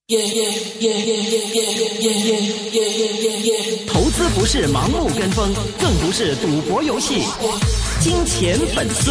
投資不是盲目跟風，更不是賭博遊戲。金錢本色。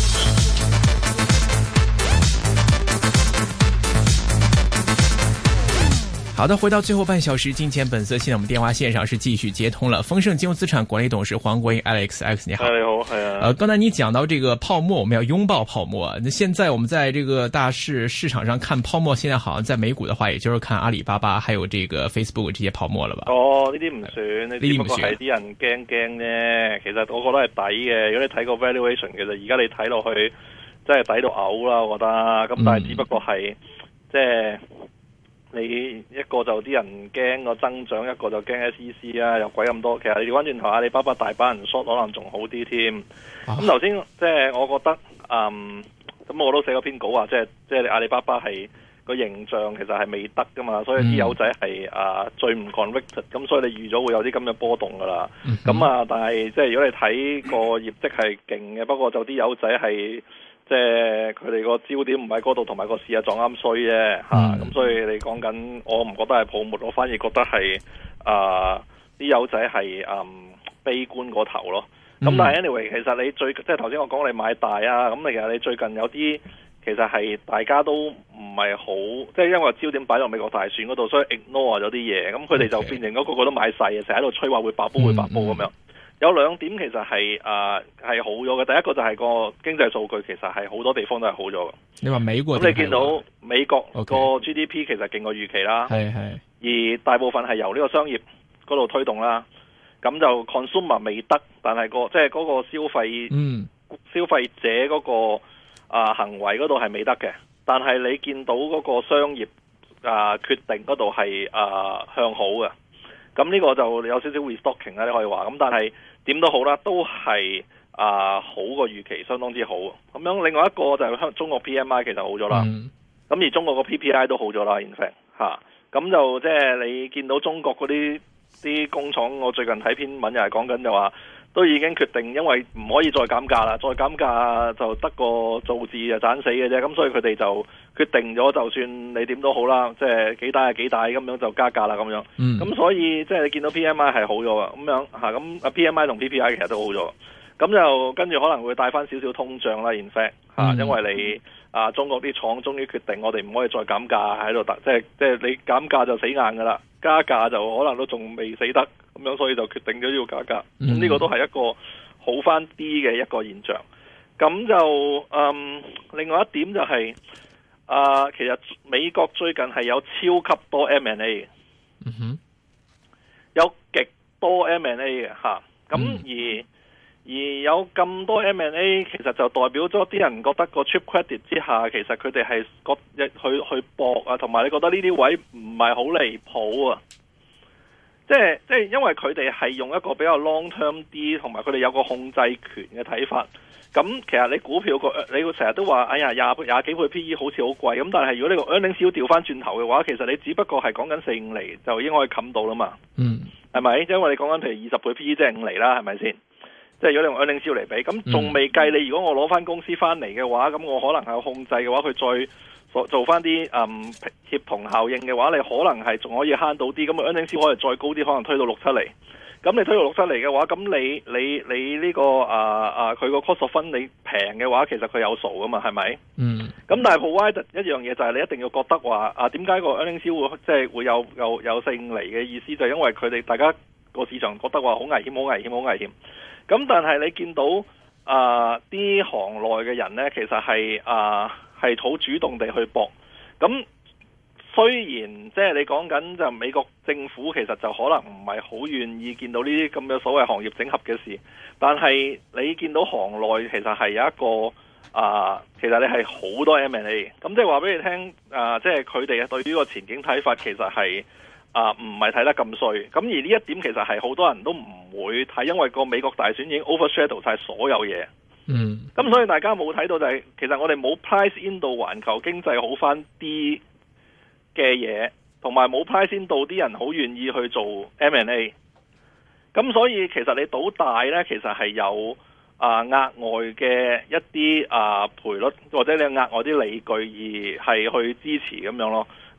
好的，回到最後半小時，金錢本色。現在我們電話線上是繼續接通了。豐盛金融資產管理董事黃國英 Alex， 你好。 你好，係啊。 剛才你講到這個泡沫，我們要擁抱泡沫。那現在我們在這個大市場上看泡沫，現在好像在美股的話，也就是看阿里巴巴，還有這個 Facebook 這些泡沫了吧？ 哦，呢啲唔算，呢啲不過係啲人驚啫。其實我覺得係抵嘅。如果你睇個 valuation，其實而家你睇落去真係抵到嘔啦，我覺得。咁但係只不過係即係。你一個就啲人驚個增長，一個就驚 SEC 啊，又鬼咁多。其實你調翻轉頭，阿里巴巴大班人 short 可能仲好啲添。咁頭先即係我覺得，咁我都寫過篇稿話，即係阿里巴巴係個形象其實係未得噶嘛，所以啲友仔係最唔 convicted，咁所以你預咗會有啲咁嘅波動噶啦。咁但係即係如果你睇個業績係勁嘅，不過就啲友仔係。即係佢哋個焦點唔喺嗰度，同埋個市撞啱衰啫嚇，咁所以你講緊，我唔覺得係泡沫，我反而覺得係啲友仔係悲觀嗰頭咯。咁但係 anyway，其實你即係頭先我講你買大啊，咁其實你最近有啲其實係大家都唔係好，即係因為焦點擺落美國大選嗰度，所以 ignore 咗啲嘢，咁佢哋就變成個個都買細嘅，成日喺度吹話會爆煲會爆煲咁樣。有兩點其實係好咗嘅，第一個就係個經濟數據其實係好多地方都係好咗嘅。你話美國咁你見到美國個 GDP 其實勁過預期啦，而大部分係由呢個商業嗰度推動啦。咁就 consumer 未得，但係即係嗰個消費者嗰個行為嗰度係未得嘅。但係你見到嗰個商業決定嗰度係向好嘅。咁呢個就有少少 restocking 啦，你可以話。咁但係點都好啦，都係好過預期，相當之好。咁樣另外一個就係中國 PMI 其實好咗啦。咁而中國個 PPI 都好咗啦 in fact 咁就即係你見到中國嗰啲工廠，我最近睇篇文又係講緊就話，都已經決定，因為唔可以再減價啦，再減價就得個造字就斬死嘅啫。咁所以佢哋就決定咗，就算你點都好啦，即係幾大係幾大咁樣就加價啦咁樣。咁所以即係你見到 PMI 係好咗啊，咁樣咁PMI 同 PPI 其實都好咗。咁就跟住可能會帶翻少少通脹啦 in fact 因為你中國啲廠終於決定，我哋唔可以再減價喺度，即係你減價就死硬噶啦，加價就可能都仲未死得，咁樣所以就決定咗要加價。咁呢個都係一個好翻啲嘅一個現象。咁就另外一點就係其實美國最近係有超級多 M&A 嘅，有極多 M&A 嘅嚇。咁而有咁多 M&A， 其實就代表咗啲人覺得個 cheap credit 之下，其實佢哋係去搏啊，同埋你覺得呢啲位唔係好離譜啊。即係因為佢哋係用一個比較 long term 啲，同埋佢哋有個控制權嘅睇法。咁其實你股票你會成日都話，哎呀廿幾倍 PE 好似好貴。咁但係如果你個 earnings 要調翻轉頭嘅話，其實你只不過係講緊4-5厘就已經可以冚到啦嘛。係咪？因為你講緊譬如20倍 PE 即係5厘啦，係咪先？即係如果你用 earnings 嚟比，咁仲未計你如果我攞翻公司翻嚟嘅話，咁我可能係有控制嘅話，佢再做翻啲協同效應嘅話，你可能係仲可以慳到啲。咁 earnings 可以再高啲，可能推到6-7厘。咁你推到6-7厘嘅話，咁你呢個佢個 cost of fund 你平嘅話，其實佢有數噶嘛，係咪？咁但係 provide 一樣嘢就係你一定要覺得話點解個 earnings 會即係會有4-5厘嘅意思，就係因為佢哋大家個市場覺得話好危險，好危險，好危險。咁但係你見到啲行內嘅人呢，其實係好主動地去搏。咁雖然即係你講緊就美國政府其實就可能唔係好願意見到呢啲咁嘅所謂行業整合嘅事，但係你見到行內其實係有一個其實你係好多 M&A。咁即係話俾你聽即係佢哋對於個前景睇法其實係唔係睇得咁衰。咁而呢一點其實係好多人都唔會睇，因為個美國大選已經 overshadow 晒所有嘢。咁所以大家冇睇到就係其實我哋冇 price in 到環球經濟好翻啲嘅嘢，同埋冇 price in 到啲人好願意去做 M&A。咁所以其實你賭大呢，其實係有額外嘅一啲賠率，或者你有額外啲理據而係去支持咁樣咯。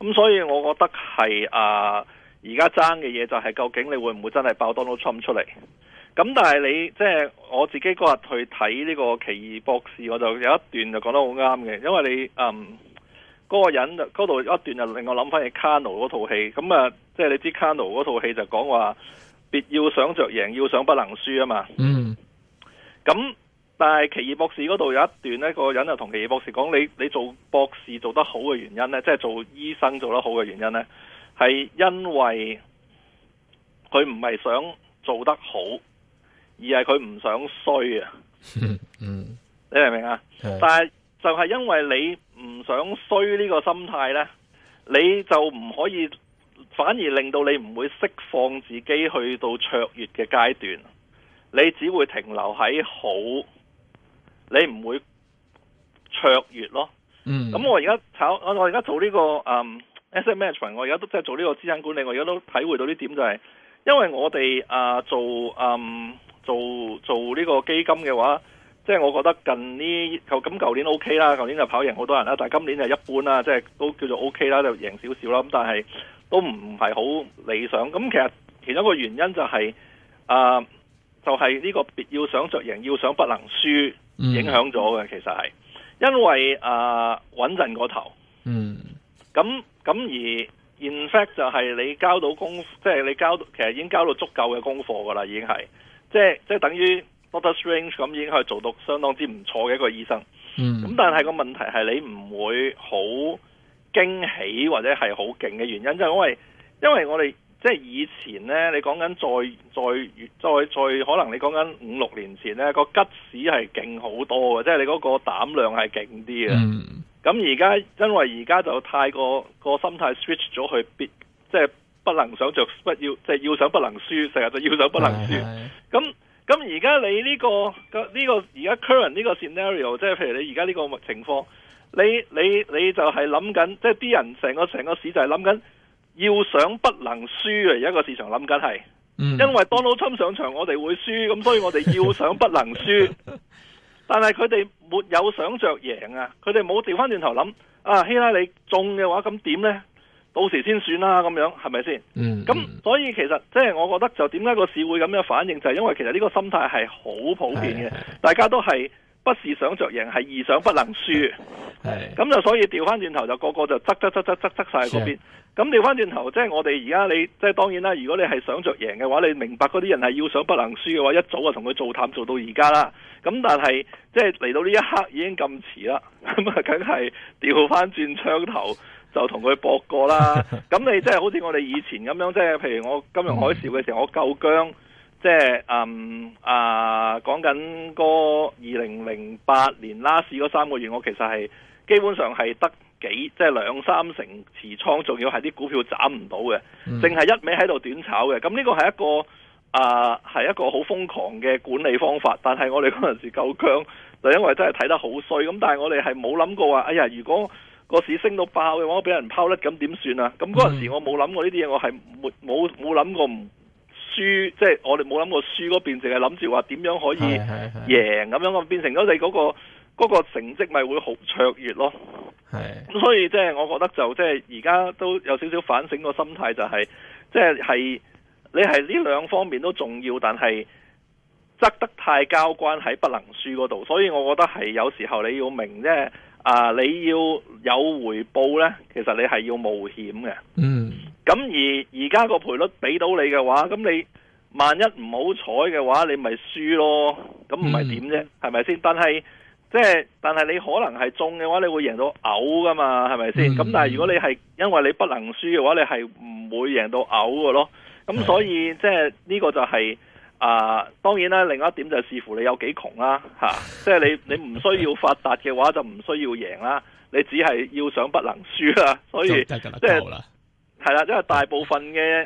咁所以我覺得係而家爭嘅嘢就係究竟你會唔會真係爆 Donald Trump 出嚟？咁但係你即係我自己嗰日去睇呢個奇異博士，我就有一段就講得好啱嘅，因為你嗰個人嗰度一段就令我諗翻起卡奴嗰套戲，咁即係你知卡奴嗰套戲就講話別要想着贏，要想不能輸啊嘛。咁但係奇異博士嗰度有一段呢，個人就同奇異博士講，你做博士做得好嘅原因呢，即係做醫生做得好嘅原因呢，係因為佢唔係想做得好，而係佢唔想衰啊。你明唔明啊？但係就係因為你唔想衰呢個心態呢，你就唔可以，反而令到你唔會釋放自己去到卓越嘅階段，你只會停留喺好，你唔會卓越咯。咁我而家我而家做呢個asset management，我而家都即係做呢個資產管理，我而家都體會到呢點就係，因為我哋做呢個基金嘅話，即係我覺得近呢咁舊年 OK 啦，舊年就跑贏好多人啦，但係今年就一般啦，即係都叫做 OK 啦，就贏少少啦。咁但係都唔係好理想。咁其實其中一個原因就係就係呢個別要想着贏，要想不能輸影響咗嘅。其實係因為穩陣過頭。咁而 in fact 就係你交到即係你其實已經交到足夠嘅功課噶啦，已經係即係等於 Doctor Strange 咁已經可以做到相當之唔錯嘅一個醫生。咁但係個問題係你唔會好驚喜或者係好勁嘅原因，就係因為我哋即係以前呢，你講緊再可能你講緊5-6年前呢，個吉士係勁好多嘅，即係你嗰個膽量係勁啲嘅。咁而家因為而家就太過個心態 switch 咗去即係不能想着不要，即係要想不能輸，成日就要想不能輸。咁而家你呢個而家 current 呢個 scenario， 即係譬如你而家呢個情況，你就係諗緊，即係啲人成個市就係諗緊要想不能輸啊！而家個市場諗緊係，因為 Donald Trump 上場我哋會輸，咁所以我哋要想不能輸。但係佢哋沒有想着贏啊！佢哋冇調翻轉頭諗希拉里中嘅話咁點呢？到時先算啦，咁樣係咪先？咁所以其實即係我覺得就點解個市會咁樣反應，就係因為其實呢個心態係好普遍嘅，大家都係不是想着贏，係意想不能輸。咁就所以調翻轉頭就個個就側晒嗰邊。咁調翻轉頭，即係我哋而家你即係當然啦。如果你係想着贏嘅話，你明白嗰啲人係要想不能輸嘅話，一早就同佢做淡做到而家啦。咁但係即係嚟到呢一刻已經咁遲啦，咁梗係調翻轉槍頭就同佢搏過啦。咁你即係好似我哋以前咁樣，即係譬如我金融海嘯嘅時候，我夠薑，即係講緊嗰2008年拉市嗰3個月，我其實係基本上係得即係2-3成持倉，仲要係啲股票斬唔到嘅，淨係一味喺度短炒嘅。咁呢個係一個好瘋狂嘅管理方法。但係我哋嗰陣時夠薑，就因為真係睇得好衰。咁但係我哋係冇諗過話，哎呀，如果個市升到爆嘅話，我俾人拋甩咁點算啊？咁嗰陣時我冇諗過呢啲嘢，我係冇諗過唔輸，即係我哋冇諗過輸嗰邊，淨係諗住話點樣可以贏咁樣，變成咗你嗰個成績咪會好卓越咯。咁所以即係我覺得就即係而家都有少少反省個心態，就係即係你係呢兩方面都重要，但係側得太交關喺不能輸嗰度。所以我覺得係有時候你要明即係你要有回報呢，其實你係要冒險嘅。咁而家個賠率俾到你嘅話，咁你萬一唔好彩嘅話，你咪輸咯。咁唔係點啫？係咪先？但係你可能係中嘅話，你會贏到嘔噶嘛？係咪先？咁但係如果你係因為你不能輸嘅話，你係唔會贏到嘔嘅咯。咁所以即係呢個就係當然啦。另外一點就係視乎你有幾窮啦，即係你唔需要發達嘅話，就唔需要贏啦。你只係要想不能輸啦。所以即係係啦，因為大部分嘅人，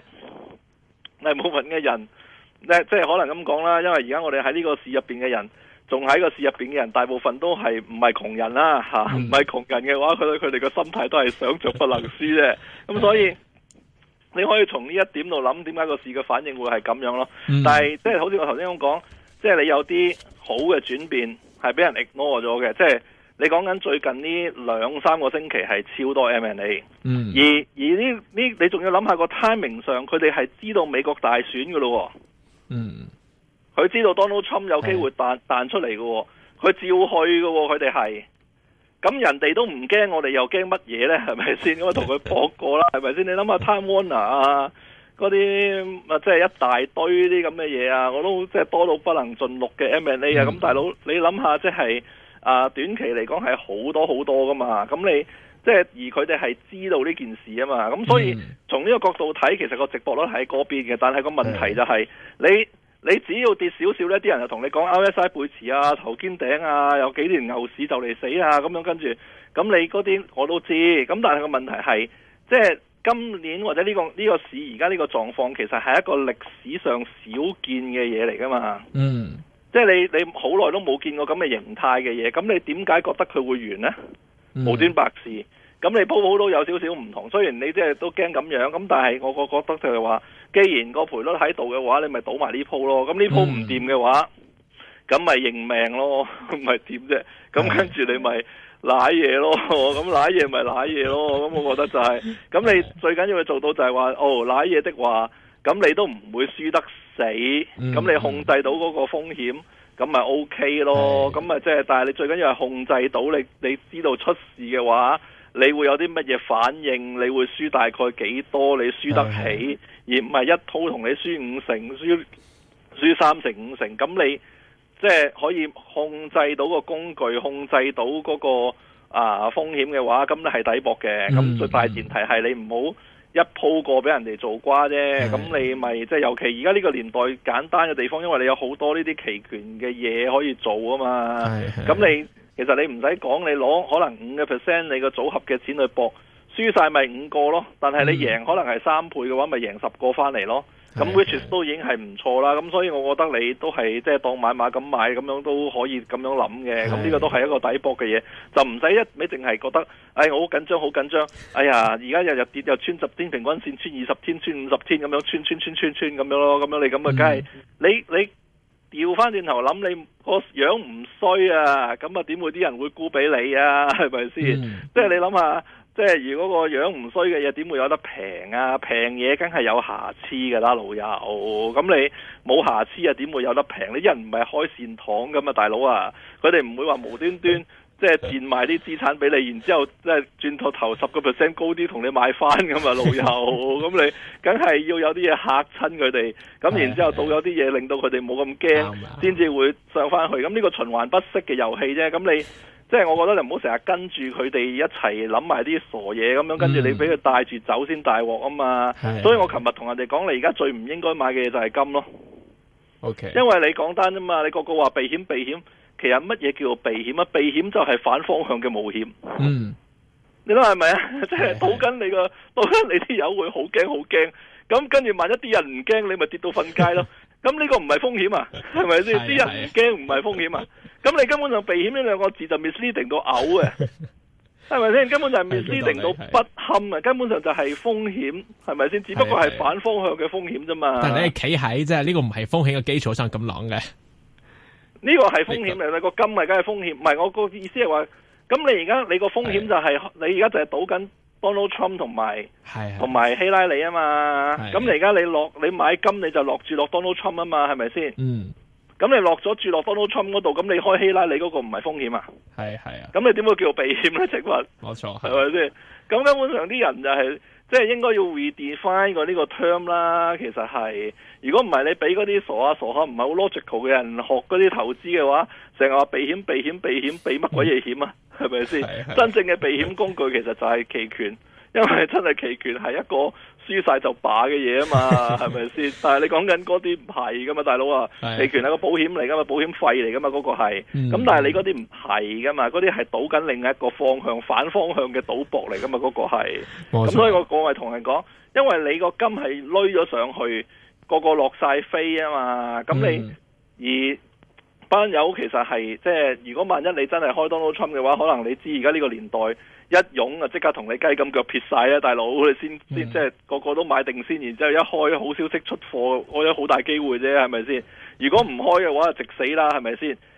即係可能咁講啦。因為而家我哋喺呢個市入邊嘅人。仲喺個市入邊嘅人，大部分都係唔係窮人啦，唔係窮人嘅話，佢哋個心態都係想着不能輸啫。咁所以你可以從呢一點度諗，點解個市嘅反應會係咁樣咯？但係即係好似我頭先咁講，即係你有啲好嘅轉變係俾人 ignore 咗嘅， 你講緊最近呢2-3個星期係超多 M&A，而呢你仲要諗下個 timing 上，佢哋係知道美國大選㗎咯，佢知道 Donald Trump 有機會彈出嚟㗎，佢照去㗎，佢哋係，咁人哋都唔驚，我哋又驚乜嘢呢？係咪先？我同佢搏過啦，係咪先？你諗下 Time Warner 啊，嗰啲即係一大堆啲咁嘅嘢啊，我都即係多到不能盡錄嘅 M&A 啊，咁大佬你諗下即係。短期嚟講係好多好多噶嘛，咁你即係而佢哋係知道呢件事啊嘛，咁所以從呢個角度睇，其實個值博率喺嗰邊嘅，但係個問題就係、你只要跌少少呢，啲人就同你講 RSI 背馳啊、頭肩頂啊，有幾年牛市就嚟死啊，咁樣跟住，咁你嗰啲我都知，咁但係個問題係，即係今年或者呢個市而家呢個狀況，其實係一個歷史上少見嘅嘢嚟噶嘛。即係你好耐都冇見過咁嘅形態嘅嘢，咁你點解覺得佢會完呢？無端白事，咁你鋪都有少少唔同。雖然你即係都驚咁樣，咁但係我覺得就係話，既然個賠率喺度嘅話，你咪賭埋呢鋪咯。咁呢鋪唔掂嘅話，咁咪認命咯，咪點啫？咁跟住你咪瀨嘢咯，咁瀨嘢咪瀨嘢咯。咁我覺得就係、咁你最緊要做到就係話，瀨嘢的話，咁你都唔會輸得死，咁你控制到嗰個風險，咁咪 OK 咯。咁咪即係，但係你最緊要係控制到你知道出事嘅話，你會有啲乜嘢反應，你會輸大概幾多，你輸得起，而唔係一鋪同你輸5成，輸3成5成，咁你即係可以控制到個工具，控制到嗰個風險嘅話，咁你係抵博嘅。咁最大前提係你唔好一鋪過俾人哋做瓜啫，咁你咪即係尤其而家呢個年代簡單嘅地方，因為你有好多呢啲期權嘅嘢可以做啊嘛。咁你其實你唔使講，你攞可能5%你個組合嘅錢去搏，輸晒咪5個咯。但係你贏可能係3倍嘅話，咪贏10個翻嚟咯。咁 which 都已經係唔錯啦。咁所以我覺得你都係即係當買馬咁買，咁樣都可以咁樣諗嘅。咁呢個都係一個抵博嘅嘢，就唔使一味淨係覺得，我好緊張，好緊張。哎呀，而家日跌又穿10天平均線，穿20天，穿50天咁樣，穿咁樣咯。咁樣你咁啊，梗係你調翻轉頭諗，你個樣唔衰啊，咁啊點會啲人會沽俾你啊？係咪先？即係你諗下。即係如果個樣唔衰嘅嘢，點會有得平啊？平嘢梗係有瑕疵㗎啦，老友。咁你冇瑕疵啊，點會有得平？你人唔係開善堂噶嘛，大佬啊！佢哋唔會話無端端即係賤賣啲資產俾你，然之後即係轉頭10% 高啲同你買翻噶嘛，老友。咁你梗係要有啲嘢嚇親佢哋，咁然之後到有啲嘢令到佢哋冇咁驚，先至會上翻去。咁呢個循環不息嘅遊戲啫。咁你。即係我覺得你唔好成日跟住佢哋一齊諗埋啲傻嘢咁樣，跟住你俾佢帶住走先大鑊啊嘛。所以我琴日同人哋講，你而家最唔應該買嘅嘢就係金咯。 OK， 因為你講單啫嘛，你個個話避險，其實乜嘢叫做避險啊？避險就係反方向嘅冒險。你諗係咪啊？即係賭緊你啲友會好驚好驚，咁跟住萬一啲人唔驚，你咪跌到瞓街咯。咁呢個唔係風險啊？係咪先？啲人唔驚唔係風險啊？咁你根本上避險呢兩個字就 misleading 到嘔嘅，係咪先？根本就係 misleading 到不堪啊！根本上就係風險，係咪先？只不過係反方向嘅風險啫嘛。 但係你企喺即係呢個唔係風險嘅基礎上咁諗嘅， 呢個係風險嚟，你個金咪梗係風險。唔係，我個意思係話，咁你而家你個風險就係你而家就係賭緊 Donald Trump 同埋希拉里啊嘛。咁你而家你買金你就落住落 Donald Trump 啊嘛，係咪先？咁你落咗住落 Donald Trump 嗰度，咁你開希拉里嗰個唔係風險啊？係啊。咁你點會叫避險咧？請問， 冇錯， 係咪先？咁根本上啲人就係即係應該要 redefine 個呢個 term 啦。其實係，如果唔係你俾嗰啲傻下唔係好 logical 嘅人學嗰啲投資嘅話，成日話避險，避乜鬼嘢險啊？係咪先？真正嘅避險工具其實就係期權，因為真係期權係一個輸晒就罷嘅嘢啊嘛，係咪先？但係你講緊嗰啲唔係噶嘛，大佬啊，期權係個保險嚟噶嘛，保險費嚟噶嘛，嗰個係。咁但係你嗰啲唔係噶嘛，嗰啲係賭緊另一個方向，反方向嘅賭博嚟噶嘛，嗰個係。咁所以我係同人講，因為你個金係攏咗上去，個個落晒飛啊嘛，咁你而班友其實係即係，如果萬一你真係開 Donald Trump 嘅話，可能你知而家呢個年代。一湧啊，即刻同你雞咁腳撇晒啊！大佬，你先即係個個都買定先，然之後一開好消息出貨，我有好大機會啫，係咪先？如果唔開嘅話，就直死啦，係咪先？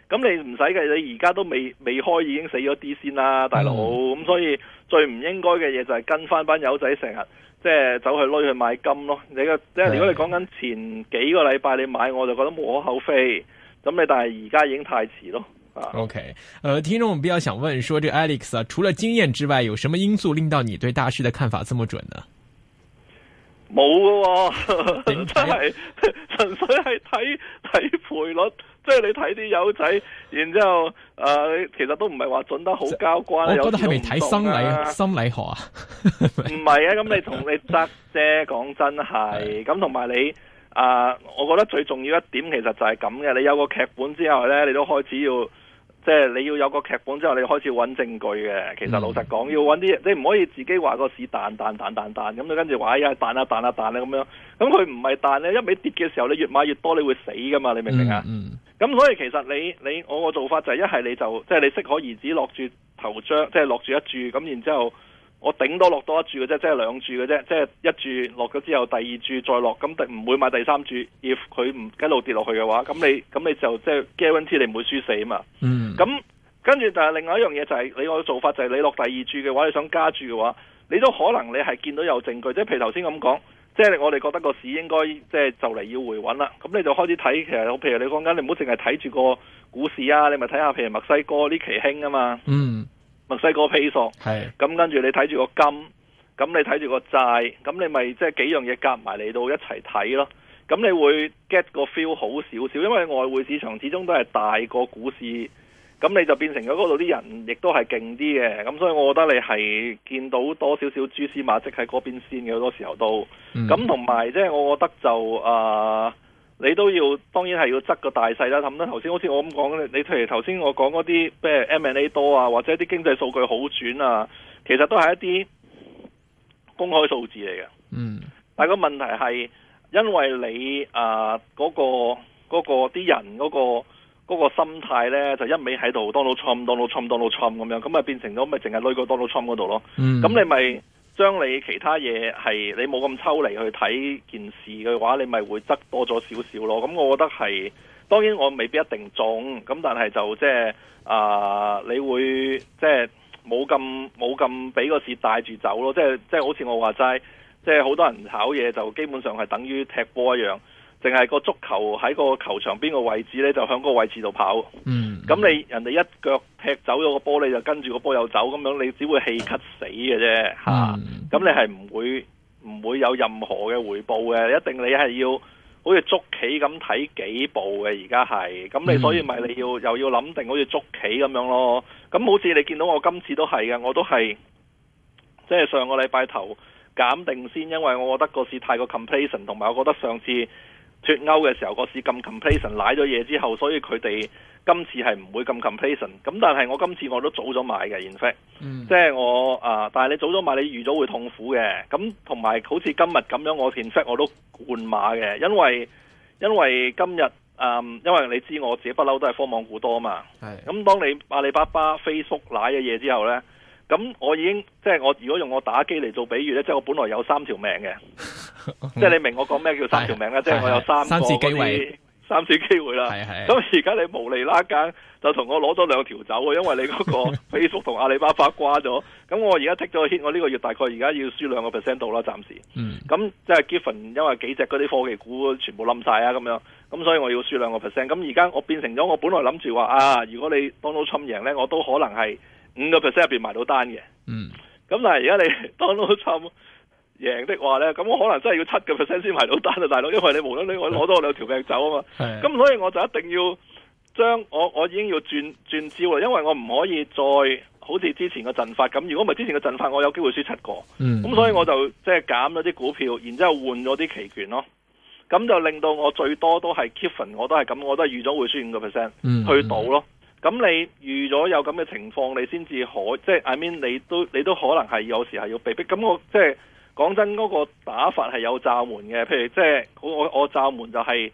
咁你唔使嘅，你而家都未開已經死咗啲先啦，大佬。咁所以最唔應該嘅嘢就係跟翻班友仔成日即係走去攞去買金咯。即係如果你講緊前幾個禮拜你買，我就覺得無可厚非。咁你但係而家已經太遲咯。 OK，聽眾比較想問說，這 Alex 啊，除了經驗之外，有什麼因素令到你對大市的看法這麼準呢？ 冇㗎，真係純粹係睇賠率，即係你睇啲友仔，然之後其實都唔係話準得好交關。 我覺得係咪睇心理學啊？ 唔係啊，咁你同你得啫，講真係。咁同埋你我覺得最重要一點其實就係咁嘅，你有個劇本之後呢，你都開始要。即係你要有個劇本之後，你開始揾證據嘅。其實老實講，要揾啲，你唔可以自己話個市彈咁，你跟住話哎呀彈啊咁樣。咁佢唔係彈咧，一味跌嘅時候，你越買越多，你會死噶嘛？你明唔明啊？咁所以其實你我個做法就係一係你就即係你適可而止落住頭張，即係落住一注咁，然之後我頂多落多一注嘅啫，即係兩注嘅啫，即係一注落咗之後，第二注再落，咁唔會買第三注。if 佢唔一路跌落去嘅話，咁你就即係 guarantee 你唔會輸死啊嘛。咁跟住，但係另外一樣嘢就係你個做法就係你落第二注嘅話，你想加注嘅話，你都可能你係見到有證據，即係譬如頭先咁講，即係我哋覺得個市應該即係就嚟要回穩啦。咁你就開始睇，其實譬如你講緊，你唔好淨係睇住個股市啊，你咪睇下譬如墨西哥呢期興啊嘛。墨西哥披索，咁跟住你睇住個金，咁你睇住個債，咁你咪即係幾樣嘢夾埋嚟到一齊睇咯。咁你會 get 個 feel 好少少，因為外匯市場始終都係大過股市，咁你就變成咗嗰度啲人亦都係勁啲嘅。咁所以我覺得你係見到多少少蛛絲馬跡喺嗰邊先嘅，好多時候都。咁同埋即係我覺得就你都要當然係要執個大細啦。咁咧頭先好似我咁講，你譬如頭先我講嗰啲咩 M&A 多啊，或者啲經濟數據好轉啊，其實都係一啲公開數字嚟嘅。但係個問題係因為你嗰個啲人嗰個心態咧，就一味喺度 Donald Trump 咁樣，咁咪變成咗咪淨係累個 Donald Trump 嗰度咯。咁你咪將你其他嘢係你冇咁抽離去睇件事嘅話，你咪會執多咗少少咯。咁我覺得係，當然我未必一定中，咁但係就即係你會即係冇咁俾個市帶住走咯。即係好似我話齋，即係好多人炒嘢就基本上係等於踢波一樣，淨係個足球喺個球場邊個位置呢，就向個位置度跑。咁你人哋一腳踢走咗個波，你就跟住個波又走，咁樣你只會氣咳死嘅啫嚇。咁你係唔會有任何嘅回報嘅，一定你係要好似捉棋咁睇幾步嘅。而家係咁，你所以咪你又要諗定好似捉棋咁樣咯。咁好似你見到我今次都係嘅，我都係即係上個禮拜頭減定先，因為我覺得個市太過 complacent， 同埋我覺得上次脫歐嘅時候個市咁 complacent， 瀨咗嘢之後，所以佢哋今次係唔會咁 complacent。咁但係我今次我都早咗買嘅，in fact，即係我但係你早咗買，你預咗會痛苦嘅。咁同埋好似今日咁樣，我 in fact 我都換馬嘅，因為今日因為你知我自己不嬲都係科網股多嘛。咁當你阿里巴巴、Facebook 瀨嘅嘢之後呢，咁我已經即係我如果用我打機嚟做比喻呢，即係我本來有3條命嘅。即係你明我講咩叫3條命咧？即係我有三次機會啦。咁而家你無厘啦更就同我攞咗2條走，因為你嗰個 Facebook 同阿里巴巴瓜咗。咁我而家剔咗 hit，我呢個月大概而家要輸2% 到啦，暫時。咁即係 given，因為幾隻嗰啲科技股全部冧晒啊，咁樣。咁所以我要輸2%。咁而家我變成咗，我本來諗住話如果你 Donald Trump 贏咧，我都可能係5%入邊埋到單嘅。咁但係而家你 Donald Trump贏的話呢，咁我可能真係要7%先埋到單啊，大佬，因為你無端端我攞多2條命走啊嘛。咁所以我就一定要將我已經要轉招啦，因為我唔可以再好似之前嘅陣法咁。如果唔係之前嘅陣法，我有機會輸7個。咁所以我就即係減咗啲股票，然之後換咗啲期權咯。咁就令到我最多都係 given，我都係咁，我都係預咗會輸5%去賭咯。咁你預咗有咁嘅情況，你先至可即係 I mean 你都可能係有時係要被逼。咁我即係。講真，嗰個打法係有罩門嘅，譬如即係我罩門就係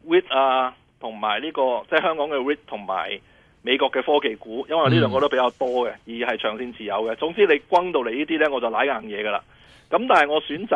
REIT 同埋呢個即係香港嘅 REIT 同埋美國嘅科技股，因為呢兩個都比較多嘅，而係長線持有嘅。總之你轟到嚟呢啲呢，我就舐硬嘢噶啦。咁但係我選擇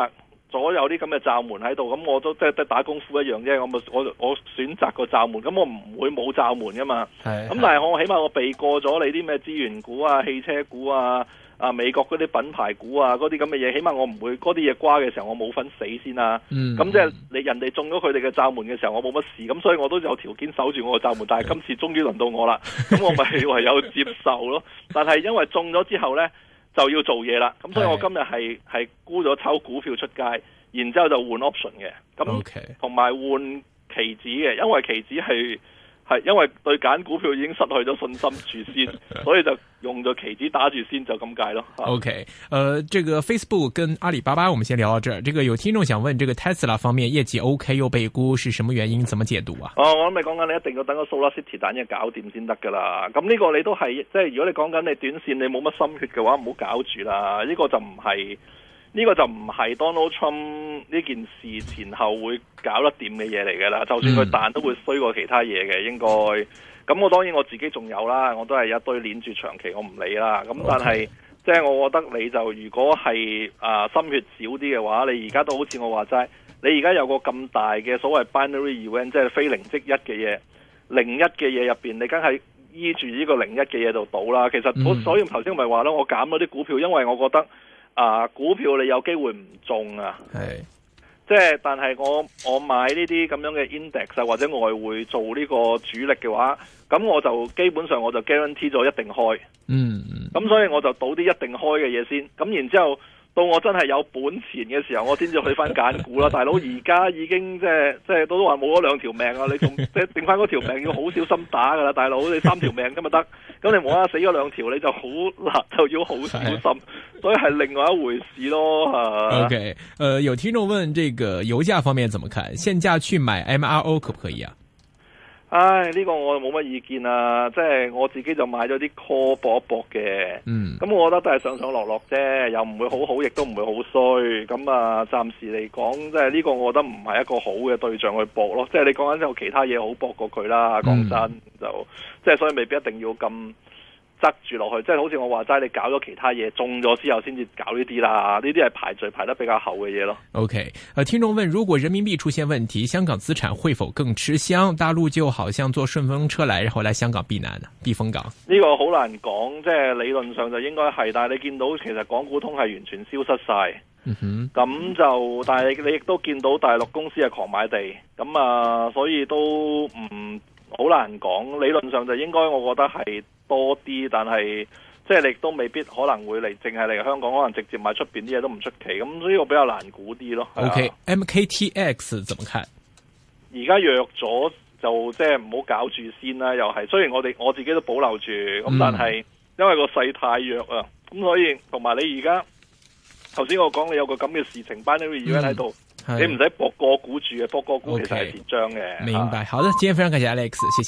咗有啲咁嘅罩門喺度，咁我都即係打功夫一樣啫。我選擇個罩門，咁我唔會冇罩門噶嘛。咁但係我起碼我避過咗你啲咩資源股啊、汽車股啊、美國嗰啲品牌股啊嗰啲咁嘅嘢，起碼我唔會嗰啲嘢瓜嘅時候我冇份死先啦。咁即係你人哋中咗佢哋嘅罩門嘅時候，我冇乜事，咁所以我都有條件守住我個罩門。但係今次終於輪到我啦，咁我咪唯有接受咯。但係因為中咗之後呢，就要做嘢啦，咁所以我今日係沽咗抽股票出街，然之後就換 option 嘅，咁同埋換期指嘅，因為期指係因為對揀股票已經失去咗信心住先，所以就用咗期指打住先，就咁解咯。 OK，這個 Facebook 跟阿里巴巴我們先聊到這兒。這個有聽眾想問，這個 Tesla 方面業績 OK 又被沽，是什麼原因？怎麼解讀啊？我諗你講緊你一定要等個 SolarCity 蛋嘢搞掂先得噶啦。咁呢個你都係即係如果你講緊你短線你冇乜心血嘅話，唔好搞住啦。呢個就唔係 Donald Trump 呢件事前後會搞得掂嘅嘢嚟嘅啦。就算佢彈都會衰過其他嘢嘅應該。咁我當然我自己仲有啦，我都係一堆鏈住長期我唔理啦。咁但係即係我覺得你就如果係心血少啲嘅話，你而家都好似我話齋，你而家有個咁大嘅所謂 binary event， 即係非零即一嘅嘢，零一嘅嘢入邊，你梗係依住呢個零一嘅嘢度賭啦。其實所以頭先咪話咯，我減咗啲股票，因為我覺得股票你有機會唔中啊。即係，但係我買呢啲咁樣嘅 index 或者外匯做呢個主力嘅話，咁我就基本上我就 guarantee 咗一定開。咁所以我就賭啲一定開嘅嘢先。咁然之後到我真係有本錢嘅時候，我先至去翻揀股啦。大佬而家已經即係都話冇咗2條命啊！你仲即係剩翻嗰條命要好小心打噶啦，大佬你3條命咁咪得。咁你冇啦死咗2條，你就好難，就要好小心。所以係另外一回事咯。 OK，有聽眾問這個油價方面怎麼看？現價去買 MRO 可不可以啊？ 呢個我冇乜意見啊，即係我自己就買咗啲 call 搏一搏嘅。咁我覺得都係上上落落啫，又唔會好好，亦都唔會好衰。咁暫時嚟講，即係呢個我覺得唔係一個好嘅對象去搏咯。即係你講緊有其他嘢好搏過佢啦，講真就即係所以未必一定要咁執住落去，即係好似我話齋，你搞咗其他嘢中咗之後，先至搞呢啲啦。呢啲係排序排得比較後嘅嘢咯。 OK，聽眾問：如果人民幣出現問題，香港資產會否更吃香？大陸就好像坐順風車來，然後來香港避難啊，避風港。呢個好難講，即係理論上就應該係，但係你見到其實港股通係完全消失晒。咁就但係你亦都見到大陸公司係狂買地，咁所以都唔好難講。理論上就應該我覺得係多啲，但係即係你都未必可能會嚟，淨係嚟香港，可能直接買出邊啲嘢都唔出奇。咁所以我比較難估啲咯。 OK，MKTX 怎麼看？ 而家弱咗就即係唔好搞住先啦。又係雖然我自己都保留住，咁但係因為個勢太弱啊，咁所以同埋你而家頭先我講你有個咁嘅事情，binary event喺度，你唔使博個股住嘅，博個股其實係跌張嘅。 明白，好的，今天非常感謝 Alex，謝謝。